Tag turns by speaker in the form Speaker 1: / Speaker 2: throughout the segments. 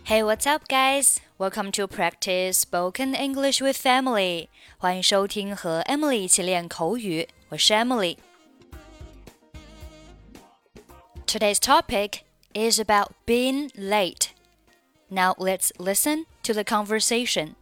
Speaker 1: Hey, what's up, guys? Welcome to practice spoken English with Emily. 欢迎收听和 Emily 一起练口语，我是 Emily. Today's topic is about being late. Now let's listen to the conversation.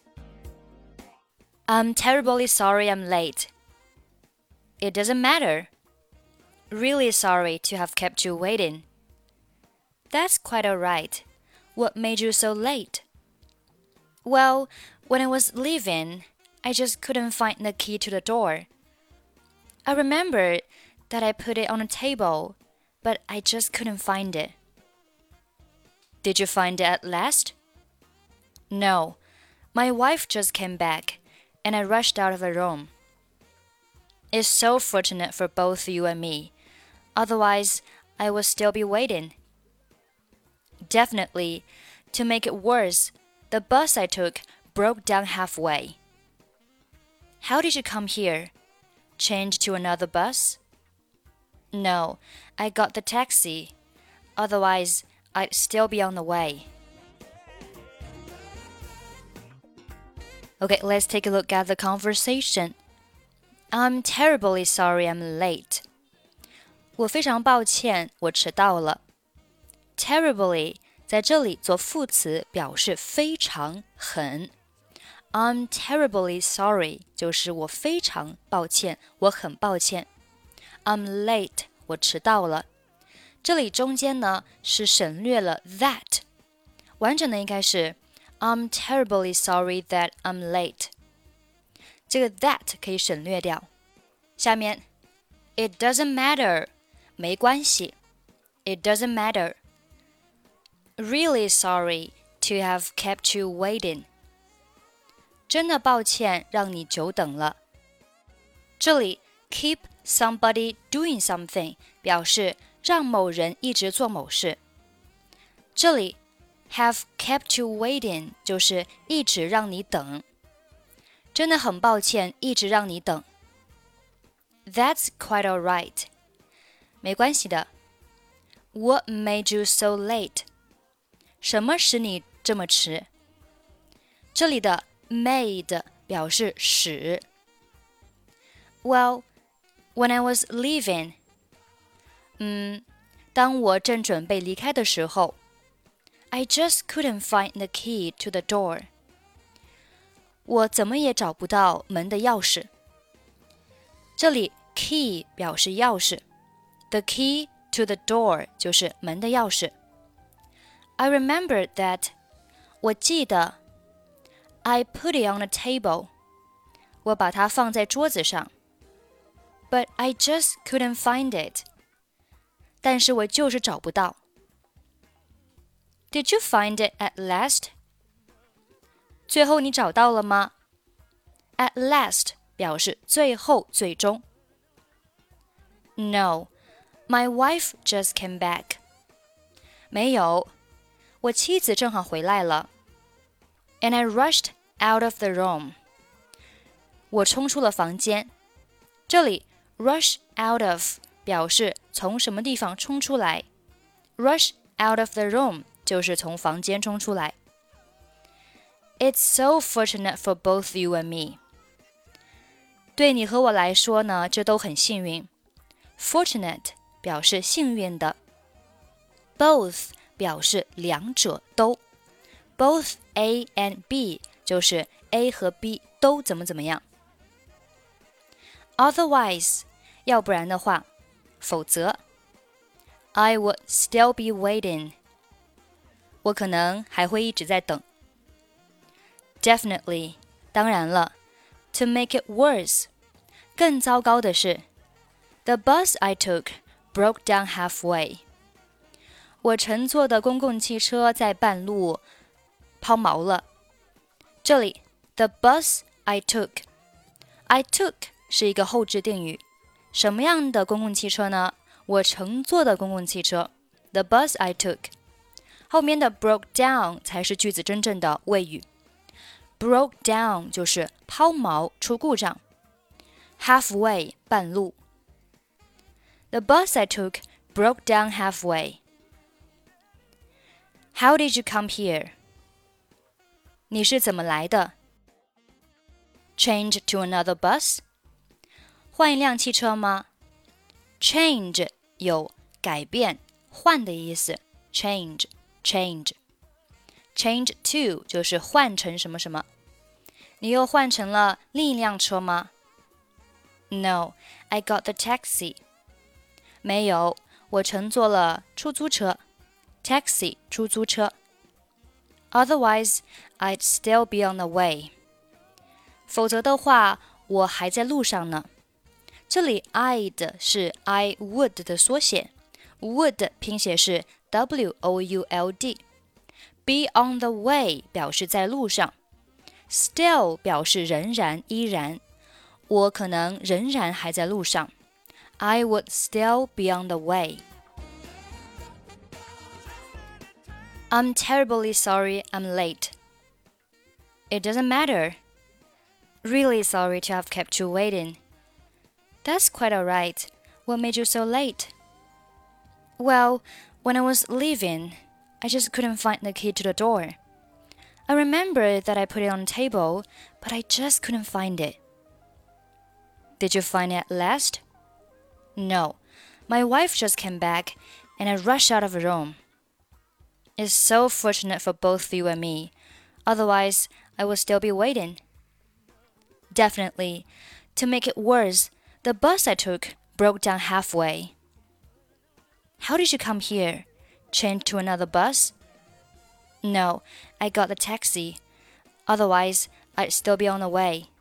Speaker 1: I'm terribly sorry I'm late. It doesn't matter. Really sorry to have kept you waiting. That's quite all right.What made you so late? Well, when I was leaving, I just couldn't find the key to the door. I remembered that I put it on a table, but I just couldn't find it. Did you find it at last? No, my wife just came back, and I rushed out of the room. It's so fortunate for both you and me. Otherwise, I would still be waiting.Definitely. To make it worse, the bus I took broke down halfway. How did you come here? Change to another bus? No, I got the taxi. Otherwise, I'd still be on the way. Okay, let's take a look at the conversation. I'm terribly sorry I'm late. 我非常抱歉，我迟到了。Terribly在这里做副词表示非常很 I'm terribly sorry 就是我非常抱歉，我很抱歉 I'm late 我迟到了。这里中间呢是省略了 that 完整的应该是 I'm terribly sorry that I'm late 这个 that 可以省略掉。下面 It doesn't matter 没关系 It doesn't matter.Really sorry to have kept you waiting. 真的抱歉让你久等了。这里 keep somebody doing something 表示让某人一直做某事。这里 have kept you waiting 就是一直让你等。真的很抱歉一直让你等。That's quite all right. 没关系的。What made you so late?什么使你这么迟？这里的 made 表示使。Well, when I was leaving, 当我正准备离开的时候 I just couldn't find the key to the door. 我怎么也找不到门的钥匙。这里 key 表示钥匙 The key to the door 就是门的钥匙。I remembered that 我记得 I put it on a table 我把它放在桌子上 But I just couldn't find it 但是我就是找不到 Did you find it at last? 最后你找到了吗 At last 表示最后最终 No, my wife just came back 没有我妻子正好回来了 And I rushed out of the room 我冲出了房间这里 rush out of 表示从什么地方冲出来 Rush out of the room 就是从房间冲出来 It's so fortunate for both you and me 对你和我来说呢这都很幸运 Fortunate 表示幸运的 Both表示两者都 Both A and B 就是 A 和 B 都怎么样 Otherwise 要不然的话否则 I would still be waiting 我可能还会一直在等 Definitely 当然了 To make it worse 更糟糕的是 The bus I took broke down halfway我乘坐的公共汽车在半路抛锚了。这里 the bus I took I took 是一个后置定语。什么样的公共汽车呢？我乘坐的公共汽车 the bus I took 后面的 broke down 才是句子真正的谓语。broke down 就是抛锚出故障。halfway 半路。The bus I took broke down halfway. How did you come here? 你是怎么来的？ Change to another bus? 换一辆汽车吗？ Change 有改变、换的意思。Change to 就是换成什么什么。你又换成了另一辆车吗？ No, I got the taxi. 没有，我乘坐了出租车。Taxi 出租车。Otherwise, I'd still be on the way. 否则的话，我还在路上呢。这里 I'd 是 I would 的缩写 ，would 拼写是 would。Be on the way 表示在路上 ，still 表示仍然、依然。我可能仍然还在路上。I would still be on the way. I'm terribly sorry I'm late. It doesn't matter. Really sorry to have kept you waiting. That's quite all right. What made you so late? Well, when I was leaving, I just couldn't find the key to the door. I remember that I put it on the table, but I just couldn't find it. Did you find it at last? No. My wife just came back, and I rushed out of the room. It's so fortunate for both you and me. Otherwise, I would still be waiting. Definitely. To make it worse, the bus I took broke down halfway. How did you come here? Change to another bus? No, I got the taxi. Otherwise, I'd still be on the way.